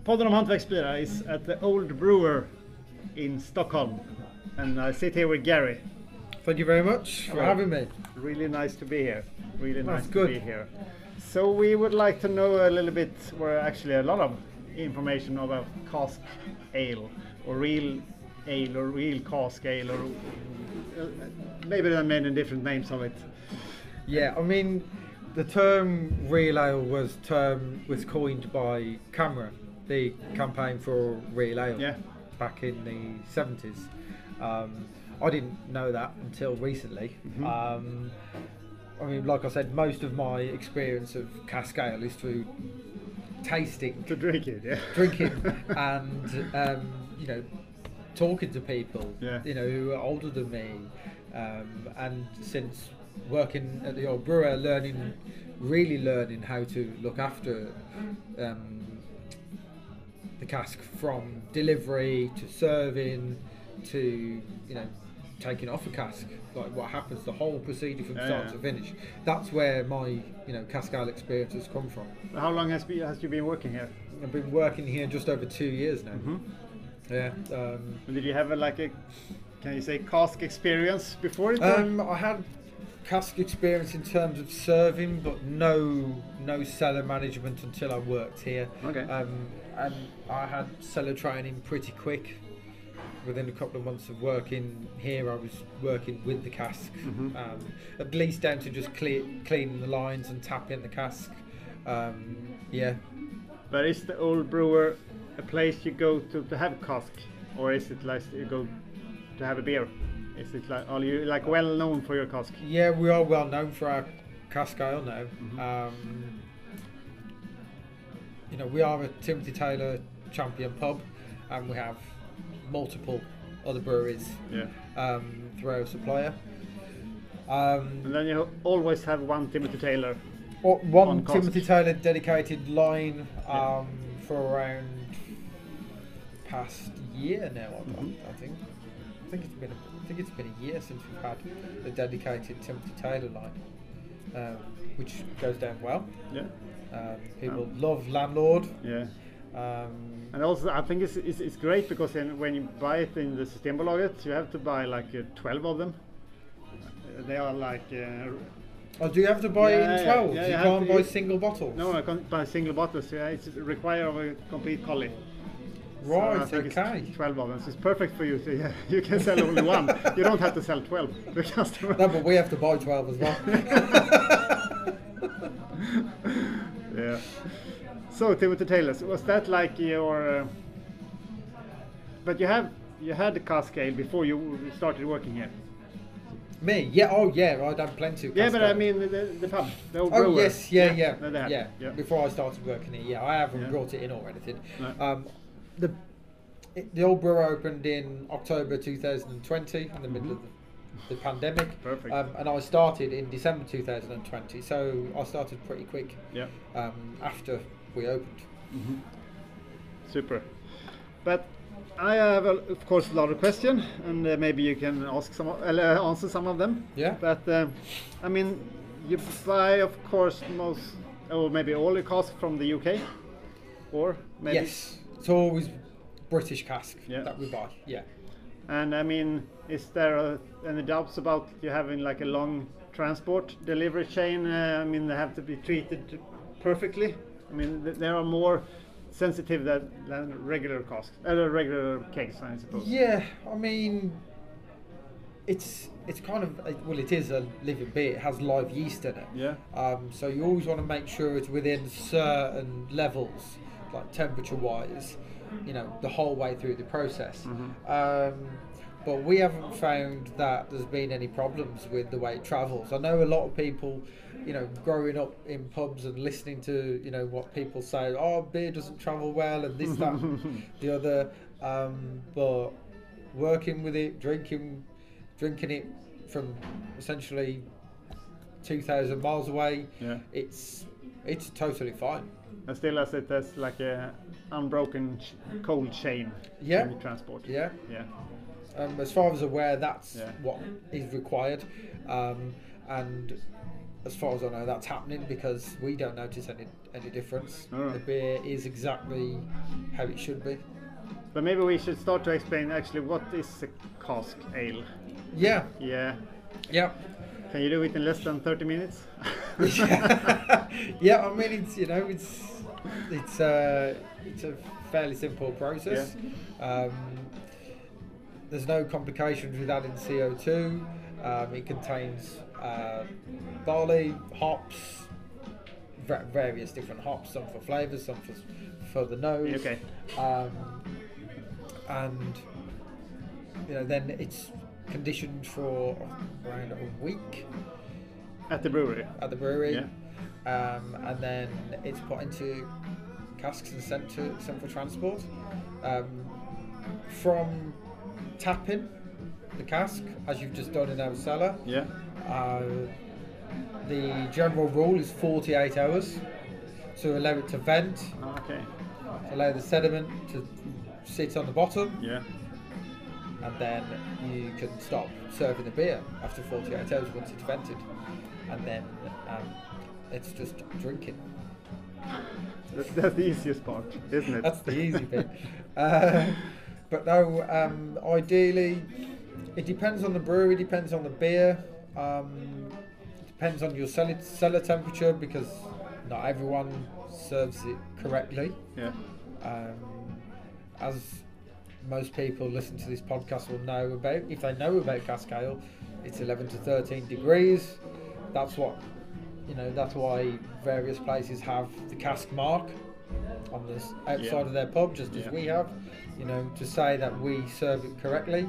Podden om hantverksbilar is at the Old Brewer in Stockholm, and I sit here with Gary. Thank you very much for having me. Really nice to be here. Really nice good. to be here. So we would like to know a little bit, or actually a lot of information about cask ale, or real cask ale, or maybe there are many different names of it. Yeah, I mean, the term real ale was coined by Camera, the campaign for real ale, back in the 70s. I didn't know that until recently. Mm-hmm. I mean, like I said, most of my experience of cask ale is through tasting, To drink it, yeah. drinking, and talking to people, Yeah. who are older than me, and since working at the Old Brewer, really learning how to look after the cask from delivery to serving to taking off a cask, like what happens, the whole procedure from start to finish. That's where my cask ale experience has come from. How long has you been working here? I've been working here just over 2 years now. Mm-hmm. Yeah. Did you have can you say cask experience before it? I had cask experience in terms of serving, but no cellar management until I worked here. Okay. And I had cellar training pretty quick. Within a couple of months of working here, I was working with the cask, at least down to just cleaning the lines and tapping the cask. Yeah. But is the Old Brewer a place you go to have cask, or is it like you go to have a beer? Is it are you well known for your cask? Yeah, we are well known for our cask ale now. We are a Timothy Taylor champion pub, and we have multiple other breweries through our supplier. And then you always have one Timothy Taylor. One Timothy Taylor dedicated line for around past year now. I think it's been a year since we've had a dedicated Timothy Taylor line, which goes down well. Yeah. People love Landlord. Yeah. And also, I think it's great because when you buy it in the Systembolaget, you have to buy 12 of them. They are Oh, do you have to buy it in 12? Yeah, you can't buy single bottles? No, I can't buy single bottles. Yeah, it's required of a complete collie. Right, so I think okay. It's 12 of them. So it's perfect for you. So you can sell only one. You don't have to sell 12 to the customer. No, but we have to buy 12 as well. Yeah. So Timothy Taylor, was that like your? But you had the cask ale before you started working here. Me? Yeah. Oh, yeah. I'd had plenty of. Yeah, but ale. I mean the pub, the Old Oh Brewer. yes, yeah. Before Before I started working here, I haven't Yeah. brought it in or anything. No. The Old Brewer opened in October 2020, in the middle of the pandemic. Perfect. And I started in December 2020, so I started pretty quick. Yeah. After we opened. Super. But I have, of course, a lot of questions, and maybe you can answer some of them. Yeah. But I mean, you buy, of course, maybe all your cask from the UK, or maybe. Yes. It's always British cask that we buy. Yeah. And I mean, is there any doubts about you having a long transport delivery chain? I mean, they have to be treated perfectly. I mean, they are more sensitive than regular casks, regular kegs, I suppose. Yeah, I mean, it's kind of it is a living beer. It has live yeast in it. Yeah. So you always want to make sure it's within certain levels, like temperature-wise, the whole way through the process. But we haven't found that there's been any problems with the way it travels. I know a lot of people, growing up in pubs and listening to, what people say, oh, beer doesn't travel well and this, that, the other. But working with it, drinking it from essentially 2,000 miles away, it's totally fine. And still, as it has a unbroken cold chain in the transport. Yeah. Yeah. As far as aware, that's what is required, and as far as I know, that's happening because we don't notice any difference. Alright. The beer is exactly how it should be. But maybe we should start to explain actually what is a cask ale. Yeah, Yeah. yeah. Can you do it in less than 30 minutes? Yeah, I mean it's a fairly simple process. There's no complications with adding CO2. It contains barley, hops, various different hops, some for flavours, some for the nose. Okay. And then it's conditioned for around a week At the brewery. at the brewery, Yeah. and then it's put into casks and sent for transport. From tapping the cask, as you've just done in our cellar, Yeah. the general rule is 48 hours to allow it to vent, Okay. to allow the sediment to sit on the bottom, Yeah. and then you can stop serving the beer after 48 hours once it's vented, and then it's just drinking. That's the easiest part, isn't it? That's the easy bit. But no, ideally, it depends on the brewery, depends on the beer, depends on your cellar temperature, because not everyone serves it correctly. Yeah. As most people listen to this podcast will know about, if they know about cask ale, it's 11 to 13 degrees. That's what, that's why various places have the cask mark on the outside of their pub, just as we have, to say that we serve it correctly.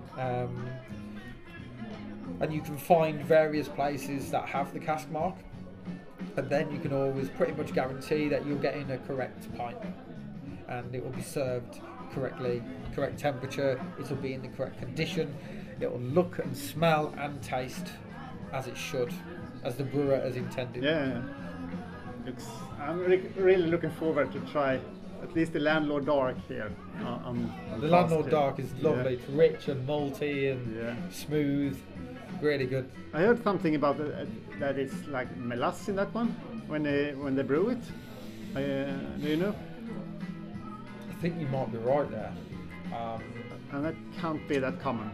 And you can find various places that have the cask mark, and then you can always pretty much guarantee that you're getting a correct pint, and it will be served correctly, correct temperature, it will be in the correct condition, it will look and smell and taste as it should, as the brewer has intended. Yeah. I'm really looking forward to try at least the Landlord Dark here. On The cask Landlord ale. Dark is lovely. Yeah. It's rich and malty and smooth, really good. I heard something about that it's like melasse in that one when they brew it. Do you know? I think you might be right there. And that can't be that common.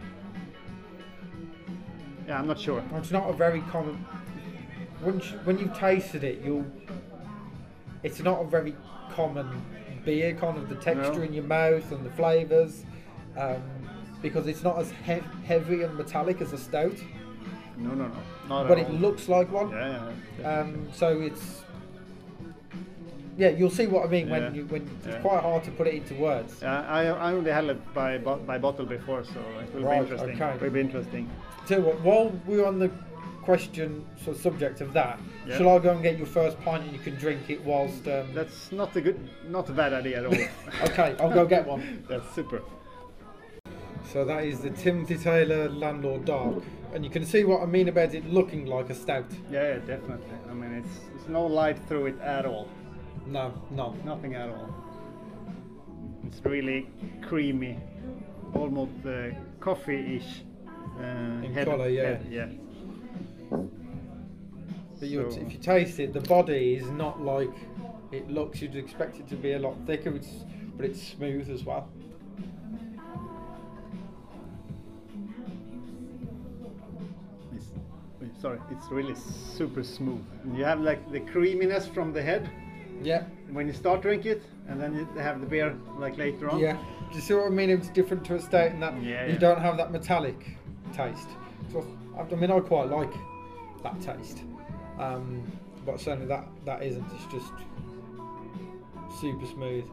Yeah, I'm not sure. It's not a very common. When you've tasted it, it's not a very common beer, kind of the texture No. in your mouth and the flavours, because it's not as heavy and metallic as a stout, No. Not but at it all. looks like one. Yeah. So it's, you'll see what I mean Yeah. when it's Yeah. quite hard to put it into words. I only had it by bottle before, so it will Right, be interesting. okay. It will be interesting. So while we're on the subject of that, Yeah. shall I go and get your first pint and you can drink it whilst? That's not a bad idea at all. Okay, I'll go get one. That's super. So that is the Timothy Taylor Landlord Dark, and you can see what I mean about it looking like a stout. Yeah, definitely. I mean, it's no light through it at all. No, Nothing at all. It's really creamy, almost coffee-ish. In colour, yeah. Yeah. But So- if you taste it, the body is not like it looks. You'd expect it to be a lot thicker, but it's smooth as well. It's really super smooth. And you have like the creaminess from the head Yeah, when you start drinking it, and then you have the beer like later on. yeah. Do you see what I mean? It's different to a stout in that Yeah, you yeah. don't have that metallic taste. So I mean, I quite like that taste, but certainly that isn't. It's just super smooth.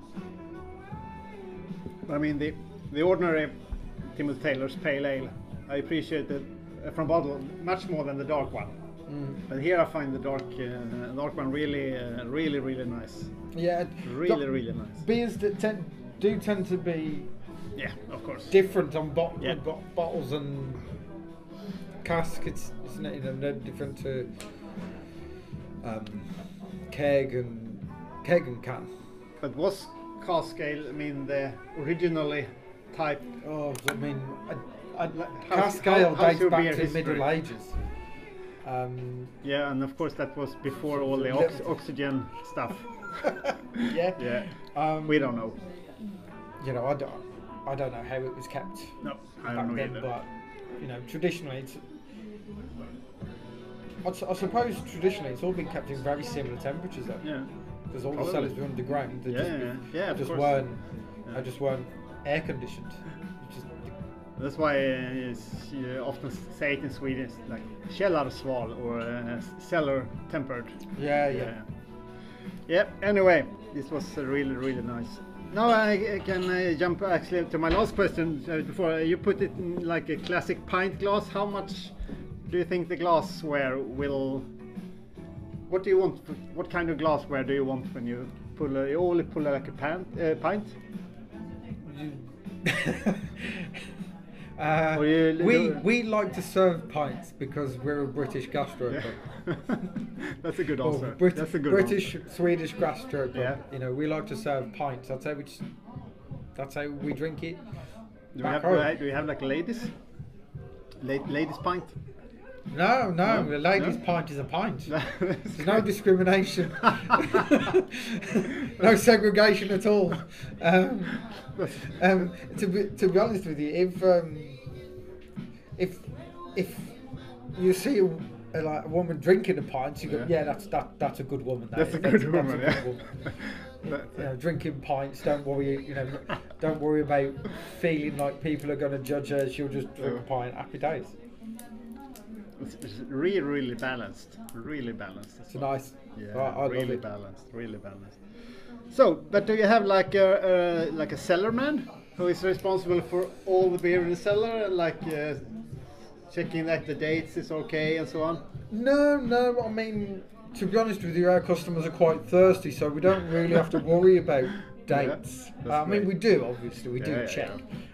I mean, the ordinary Timothy Taylor's Pale Ale, I appreciate it from bottle much more than the dark one. But here I find the dark one really nice. Yeah, Really nice. beers that tend to be Yeah, of course. different on Yeah. bottles and cask. It's not, no different to keg and can. But was cask ale, I mean, the originally type? Oh, I mean, How's- cask ale how's dates your back beer to the history? Middle Ages. Yeah, and of course that was before all the oxygen stuff. Yeah. Yeah. We don't know. You know, I don't know how it was kept. No, I back don't know then, either. but you know, traditionally, I suppose traditionally it's all been kept in very similar temperatures though. Yeah. Because all the Probably. cellars were underground. They Yeah, of just course. weren't. Yeah. They just weren't air conditioned. Just, That's why you often say it in Swedish, like källarsval or cellar tempered. yeah. Yeah. Anyway, this was really, really nice. Now I can jump actually to my last question. Before you put it in like a classic pint glass, how much do you think the glassware will? What do you want? What kind of glassware do you want when you pull? You only pull like a pint. Or we like to serve pints because we're a British gastro Yeah. pub. That's a good answer. Or That's a good British, answer. Swedish gastro pub. Yeah. You know, we like to serve pints. That's how we drink it. Do back we home. have like ladies? Ladies pint? No, No? a lady's No? pint is a pint. That's There's no discrimination, no segregation at all. To be honest with you, if you see a woman drinking a pint, you go, Yeah. that's a good woman. That's a good woman. That's a Yeah. good woman. You know, drinking pints, don't worry. You know, don't worry about feeling like people are going to judge her. She'll just drink a pint. Happy days. It's really, really balanced. Really balanced. It's nice. Yeah, I love really it. balanced. Really balanced. So, but do you have like a cellar man who is responsible for all the beer in the cellar, like checking that the dates is okay and so on? No. I mean, to be honest with you, our customers are quite thirsty, so we don't really have to worry about dates. that's I mean, great. we do obviously. We do Yeah, check.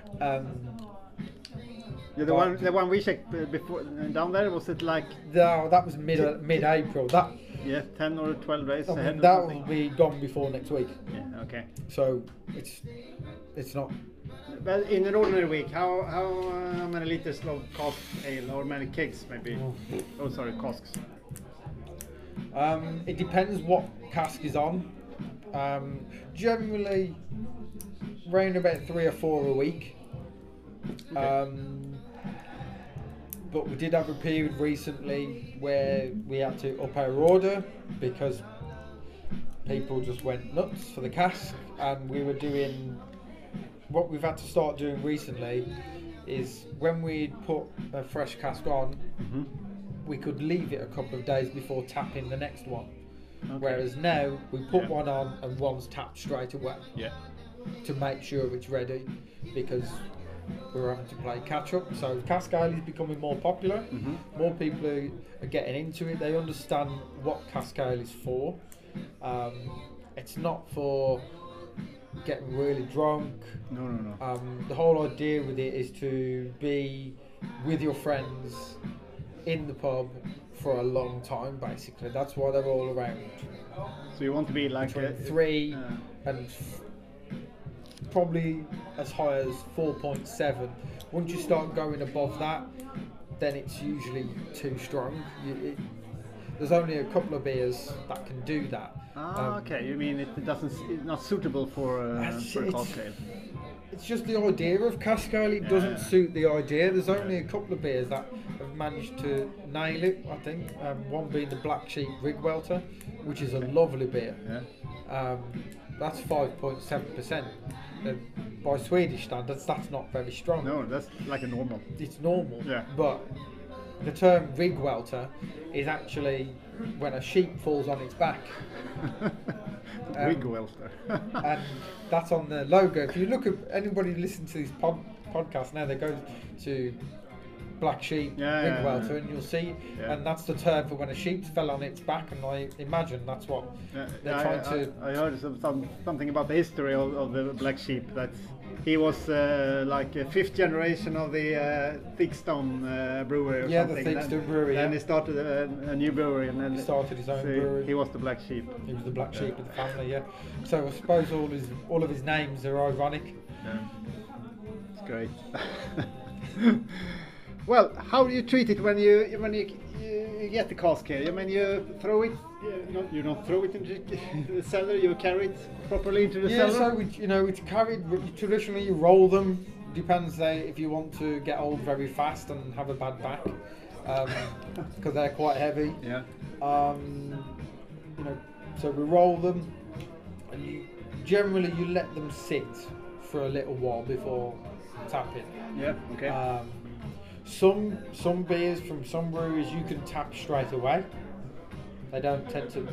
Yeah, the one we checked before down there, was it like That was mid-April. That 10 or 12 days I ahead? mean, or that will something? be gone before next week. Yeah. Okay. So it's not. But in an ordinary week, how many liters of cask ale or many kegs maybe? Oh, sorry, casks. It depends what cask is on. Generally, round about 3 or 4 a week. But we did have a period recently where we had to up our order because people just went nuts for the cask, and we were doing what we've had to start doing recently is when we put a fresh cask on, we could leave it a couple of days before tapping the next one. Okay. Whereas now we put Yeah. one on and one's tapped straight away Yeah. to make sure it's ready, because we're having to play catch up. So cask ale is becoming more popular. More people are getting into it. They understand what cask ale is for. It's not for getting really drunk. No. The whole idea with it is to be with your friends in the pub for a long time, basically. That's why they're all around. So you want to be like Between 3 uh, and probably as high as 4.7. Once you start going above that, then it's usually too strong. There's only a couple of beers that can do that. okay. You mean it's not suitable for cask ale? It's just the idea of cask ale. It doesn't suit the idea. There's only a couple of beers that have managed to nail it, I think. One being the Black Sheep Rig Welter, which is a lovely beer. Yeah. That's 5.7%. By Swedish standards, that's not very strong. No, that's like a normal. It's normal. Yeah. But the term rig welter is actually when a sheep falls on its back. Rig welter. And that's on the logo. If you look at anybody listening to this podcast now, they go to Black Sheep Rig Welter and you'll see, and that's the term for when a sheep fell on its back, and I imagine that's what they're trying to. I heard something about the history of the Black Sheep, that he was like a 5th generation of the Thigstone brewery or something. The Thigstone brewery. And he started a new brewery, and then He started his own brewery. He was the Black Sheep. He was the black sheep of the family, yeah. So I suppose all of his names are ironic. Yeah. It's great. Well, how do you treat it when you get the cask here? I mean, you throw it. You don't throw it into the cellar. You carry it properly into the cellar. So it's carried. Traditionally, you roll them. Depends if you want to get old very fast and have a bad back, because they're quite heavy. Yeah. So we roll them, and generally you let them sit for a little while before tapping. Yeah. Okay. Some beers from some breweries you can tap straight away. They don't tend to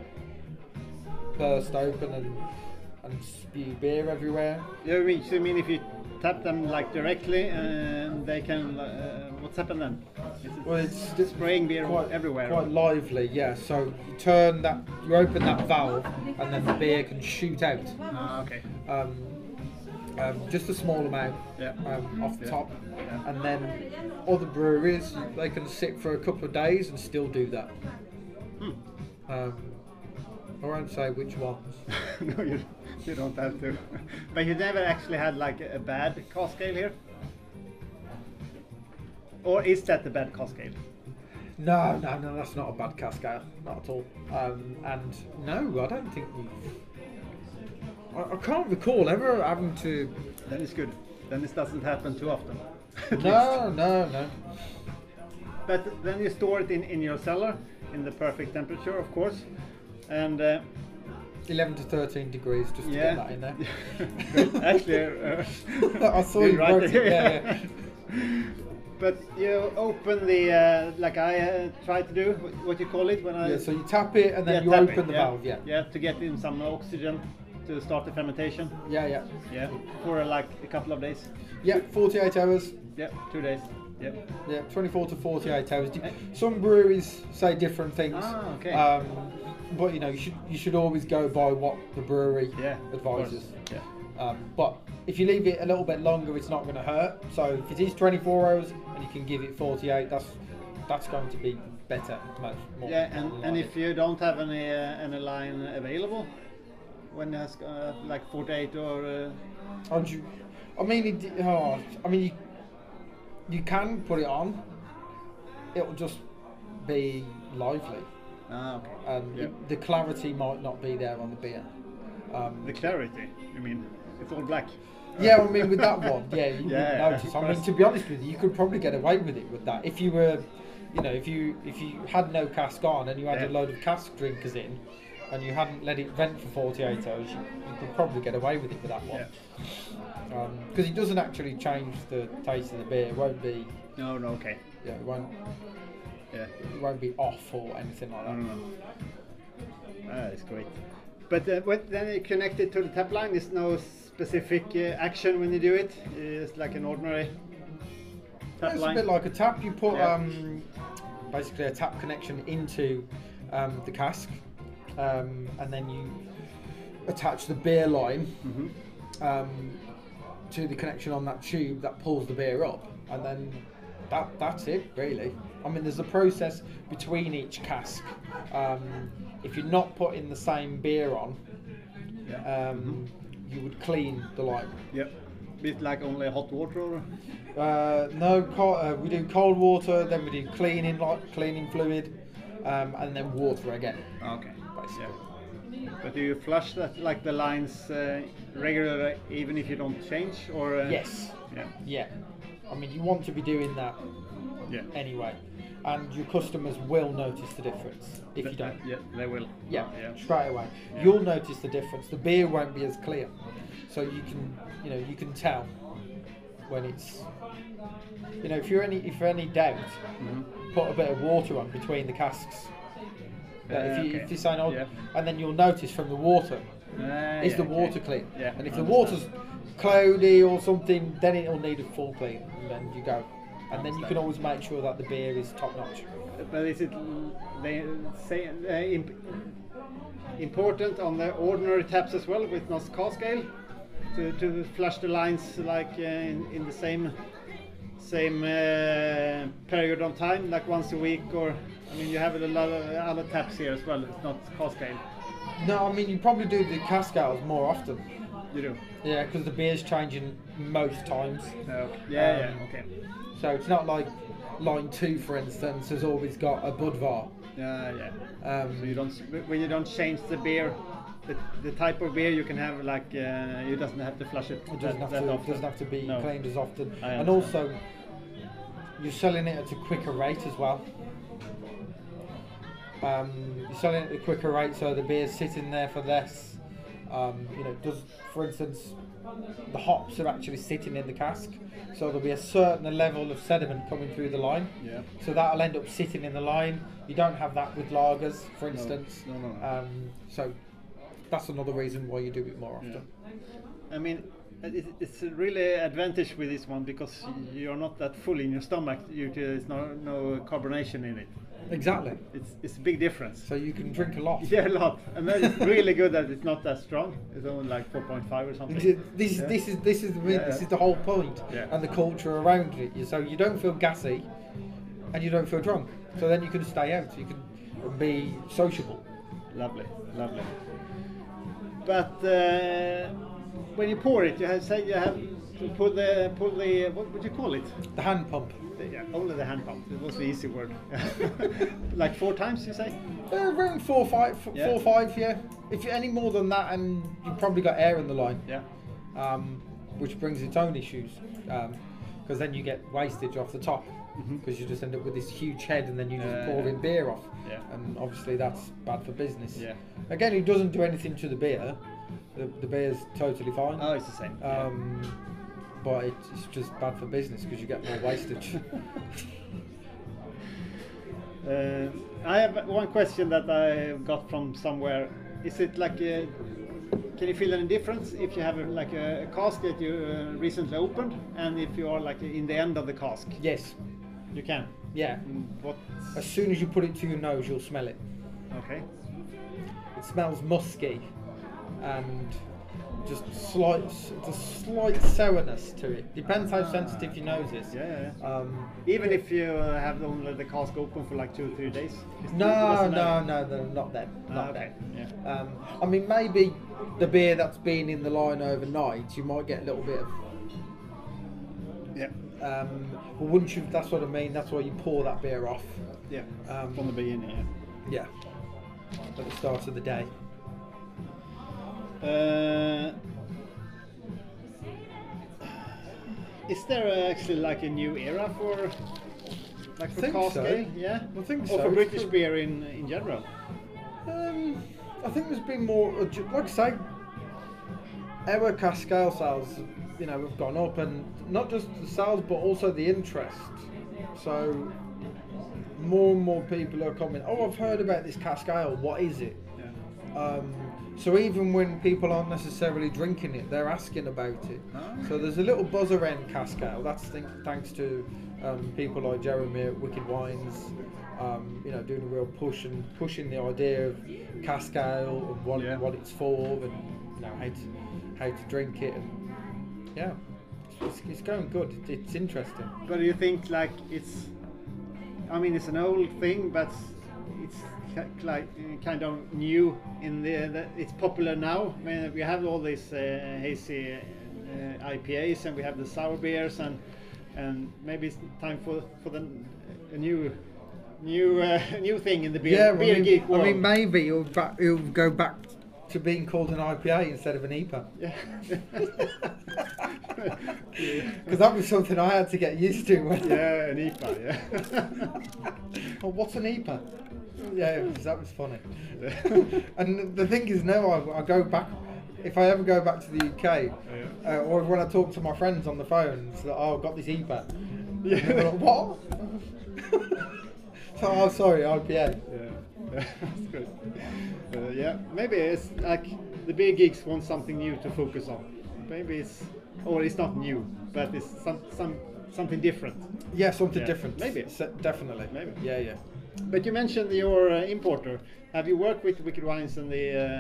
burst open and spew beer everywhere. Yeah, you mean if you tap them like directly, and they can? What's happened then? It's spraying beer everywhere. Quite lively, yeah. So you open that valve, and then the beer can shoot out. Okay. Just a small amount off the top, and then other breweries they can sit for a couple of days and still do that. I won't say which ones. No, you don't have to. But you never actually had like a bad cask ale here, or is that the bad cask ale? No, that's not a bad cask ale, not at all. And no, I don't think I can't recall ever having to. Then it's good. Then this doesn't happen too often. No. But then you store it in your cellar in the perfect temperature, of course, and 11 to 13 degrees, just to get that in there. Actually, I saw you wrote it. Yeah. But you open the like I try to do. What you call it when I? Yeah. So you tap it and then you open the valve. Yeah. Yeah, to get in some oxygen to start the fermentation. Yeah. For like a couple of days. Yeah, 48 hours. Yeah, 2 days. Yeah. Yeah, 24 to 48 hours. Some breweries say different things. Okay. But you should always go by what the brewery advises. Yeah. But if you leave it a little bit longer, it's not going to hurt. So if it is 24 hours and you can give it 48, that's going to be better. Much more. Yeah, and if you don't have any line available, when it has like 48 or. You can put it on. It'll just be lively. Okay. And the clarity might not be there on the beer. The clarity, you mean? It's all black. Yeah, I mean with that one, you wouldn't notice. I mean, to be honest with you could probably get away with it with that. If you were, if you had no cask on and you had a load of cask drinkers in, and you hadn't let it vent for 48 hours, you could probably get away with it with that one. Because it doesn't actually change the taste of the beer. It won't be. No, okay. Yeah, it won't. Yeah. It won't be off or anything like that. No. That's great. But then you connect it to the tap line. There's no specific action when you do it. It's like an ordinary tap line. It's a bit like a tap. You put basically a tap connection into the cask, and then you attach the beer line to the connection on that tube that pulls the beer up, and then that's it really. I mean, there's a process between each cask. If you're not putting the same beer on, you would clean the line. Yep. Bit like only hot water, or? No, we do cold water, then we do cleaning fluid, and then water again. Okay. Basically. Yeah. But do you flush that, like the lines regularly, even if you don't change, or? Yes. Yeah. Yeah. I mean, you want to be doing that anyway, and your customers will notice the difference if you don't. Yeah, they will. Yeah, straight away. Yeah. You'll notice the difference. The beer won't be as clear, so you can tell when it's. If you're any doubt, put a bit of water on between the casks. If you're saying, and then you'll notice from the water, is the water clean? Yeah, and if the water's cloudy or something, then it'll need a full clean, and then you go. And then you can always make sure that the beer is top notch. But is it important on the ordinary taps as well with not cask ale to flush the lines like in the same period of time, like once a week, or I mean you have a lot of other taps here as well. It's not cask ale. No, I mean you probably do the cask ales more often. You do. Yeah, because the beer's changing most times. Okay. Okay. So it's not like line 2, for instance, has always got a Budvar. Yeah. Um, So you don't when you don't change the beer, the type of beer you can have like you doesn't have to flush it. It doesn't have to be No. cleaned as often, I and understand. also you're selling it at a quicker rate as well. You're selling it at a quicker rate, so the beer's sitting there for less. Does, for instance, the hops are actually sitting in the cask, so there'll be a certain level of sediment coming through the line. Yeah. So that'll end up sitting in the line. You don't have that with lagers, for instance. No. So that's another reason why you do it more often. Yeah. I mean, it's a really advantage with this one because you're not that full in your stomach. There's no carbonation in it. Exactly. It's a big difference. So you can drink a lot. Yeah, a lot, and then it's really good that it's not that strong. It's only like 4.5 or something. This is the whole point, Yeah. and the culture around it. So you don't feel gassy, and you don't feel drunk. So then you can stay out. You can be sociable. Lovely. But when you pour it, you have to pull the what would you call it? The hand pump. Yeah, only the hand pump. It was the easy word. Like 4 times, you say? Around 4 or 5, Yeah. 4 or 5, yeah. If you're any more than that, and you've probably got air in the line, Yeah. which brings its own issues, because then you get wastage off the top, because you just end up with this huge head, and then you just pouring beer off, Yeah. and obviously that's bad for business. Yeah. Again, it doesn't do anything to the beer. The beer's totally fine. Oh, it's the same. But it's just bad for business because you get more wastage. I have one question that I got from somewhere. Is it like can you feel any difference if you have a cask that you recently opened and if you are like in the end of the cask? Yes. You can. Yeah. What? As soon as you put it to your nose, you'll smell it. Okay. It smells musky and just the slight sourness to it. Depends how sensitive your nose is. Yeah. Even Even if you have only the cask open for like 2 or 3 days. no, not then. Okay. Yeah. I mean, maybe the beer that's been in the line overnight, you might get a little bit of. Yeah. But once you, that's what I mean. That's why you pour that beer off. Yeah. Um, From the beginning. Yeah. Yeah. At the start of the day. Is there actually like a new era for think cask so. ale? Yeah. I think Or so. for British beer in general. I think there's been more, like I say, our cask ale sales, have gone up, and not just the sales, but also the interest. So more and more people are coming. Oh, I've heard about this cask ale. What is it? Yeah. So even when people aren't necessarily drinking it, they're asking about it. So there's a little buzz around cask ale. That's thanks to people like Jeremy at Wicked Wines, doing a real pushing the idea of cask ale and what it's for, and how to drink it, and yeah, it's going good. It's interesting. But do you think like it's an old thing, but it's like kind of new in the it's popular now. I mean, we have all these hazy IPAs, and we have the sour beers, and maybe it's time for a new thing in the beer geek world. I mean, maybe it'll go back to being called an IPA instead of an IPA. Yeah. Because that was something I had to get used to. Yeah, an IPA. Yeah. Well, what's an IPA? Yeah, that was funny. And the thing is, now I go back. If I ever go back to the UK, or when I talk to my friends on the phone, it's like, oh, I've got this IPA. Yeah. And they're like, what? So, oh, sorry, IPA. Yeah, that's good. Yeah, maybe it's like the big geeks want something new to focus on. Maybe it's not new, but it's something different. Yeah, something Yeah, different. maybe. Definitely. Maybe. Yeah. But you mentioned your importer. Have you worked with Wicked Wines and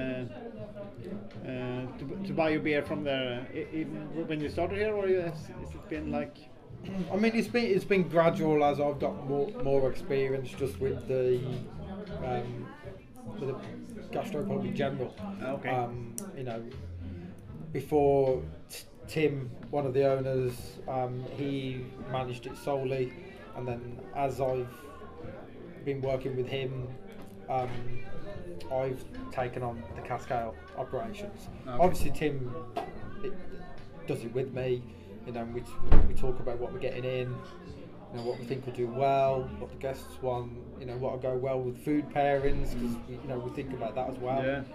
to buy your beer from there, even when you started here, or has it been like? I mean, it's been gradual as I've got more experience just with the gastropub in general. Okay. Before Tim, one of the owners, he managed it solely. and then as I've been working with him, I've taken on the cask ale operations. Okay. Obviously, Tim does it with me. You know, we talk about what we're getting in, you know, what we think will do well, what the guests want, you know, what will go well with food pairings, because we think about that as well. Yeah.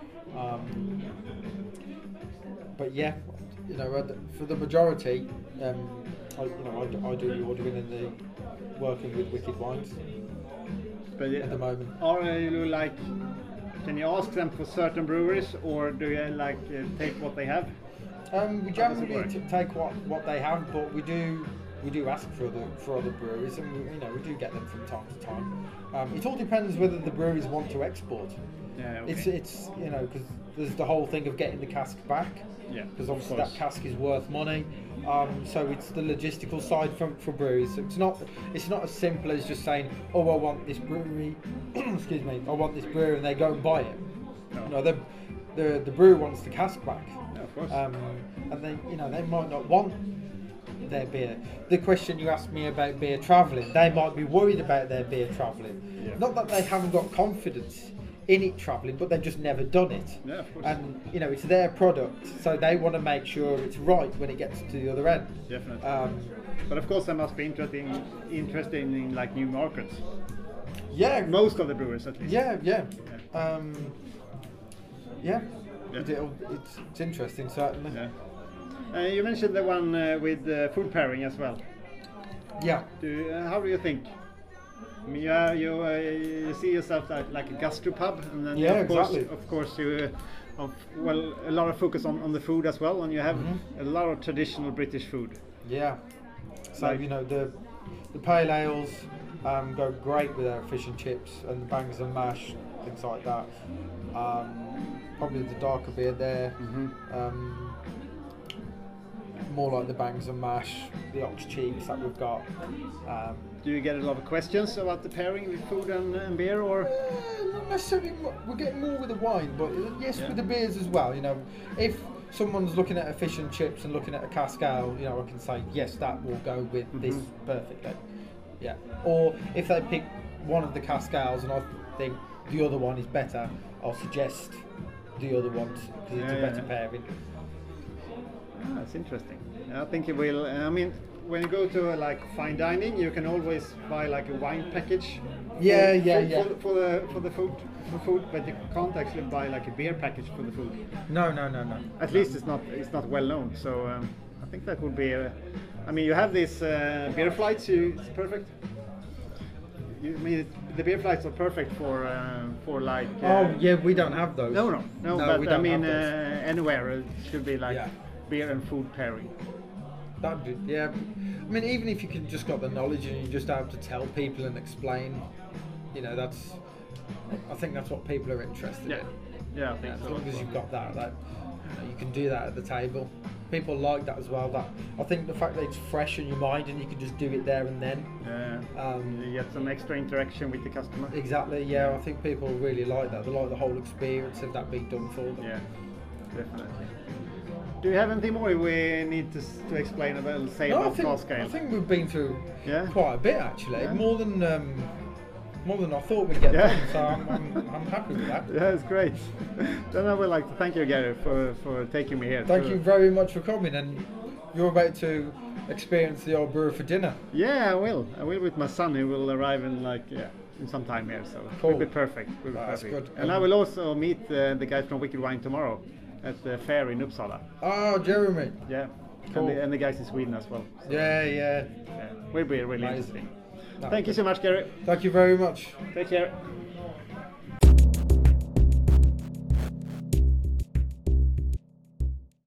But yeah, you know, for the majority, I do the ordering and the working with Wicked Wines But at the moment. Are you like? Can you ask them for certain breweries, or do you like take what they have? We How does it generally work? take what they have, but we do ask for other breweries, and we do get them from time to time. It all depends whether the breweries want to export. Yeah. Okay. It's because there's the whole thing of getting the cask back. Yeah, Because of obviously course. that cask is worth money. So it's the logistical side for breweries. So it's not as simple as just saying, oh, I want this brewery. Excuse me, I want this brewery, and they go and buy it. No. No, the brewer wants the cask back. Yeah, of course. And they might not want their beer. The question you asked me about beer travelling, they might be worried about their beer travelling. Yeah. Not that they haven't got confidence in it travelling, but they've just never done it. Yeah, of course. And it's their product, so they want to make sure it's right when it gets to the other end. Definitely. But of course, they must be interested in like new markets. Yeah, Most of the brewers, at least. yeah. Yeah. Yeah. Yeah. It's interesting, certainly. Yeah. You mentioned the one with food pairing as well. Yeah. How do you think? I mean, you see yourself like a gastropub, and then Yeah, of exactly. course you a lot of focus on the food as well, and you have a lot of traditional British food. Yeah. So Like- the pale ales go great with our fish and chips and the bangers and mash, things like that. Probably the darker beer there. More like the bangers and mash, the ox cheeks that we've got. Do you get a lot of questions about the pairing with food and beer, or? Not necessarily. We're getting more with the wine, but yes, Yeah. with the beers as well. If someone's looking at a fish and chips and looking at a cask ale, I can say yes, that will go with this perfectly. Yeah. Or if they pick one of the cask ales and I think the other one is better, I'll suggest the other one because it's a better pairing. That's interesting. I think it will. I mean, when you go to like fine dining, you can always buy like a wine package. Yeah, For the food, but you can't actually buy like a beer package for the food. No. At least it's not well known. So I think that would be. I mean, you have these beer flights. It's perfect. I mean, the beer flights are perfect for like. Oh yeah, we don't have those. No. we But I don't mean, have those. anywhere it should be like Yeah. beer and food pairing. That'd be, yeah. I mean, even if you can just got the knowledge and you just have to tell people and explain, I think that's what people are interested in. Yeah, I think As so. long as you've got that you can do that at the table. People like that as well. That I think the fact that it's fresh in your mind and you can just do it there and then. Yeah. You get some extra interaction with the customer. Exactly. Yeah, I think people really like that. They like the whole experience of that being done for them. Yeah, definitely. Do you have anything more we need to explain about, say No, about cask ale? I think we've been through Yeah. quite a bit actually. Yeah. More than I thought we'd get Yeah. done. So I'm happy with that. Yeah, it's great. Then I would like to thank you, Gary, for taking me here. Thank you very much for coming, and you're about to experience the old brewer for dinner. Yeah, I will. I will with my son. He will arrive in in some time here, so Cool. it'll be perfect. Will be That's perfect. good. And I will also meet the guys from Wicked Wine tomorrow at the fair in Uppsala. Oh, Jeremy. Yeah, Cool. and the guys in Sweden as well. So, Yeah. yeah, will be really Amazing. interesting. No, Thank you so much, Gary. Thank you very much. Take care.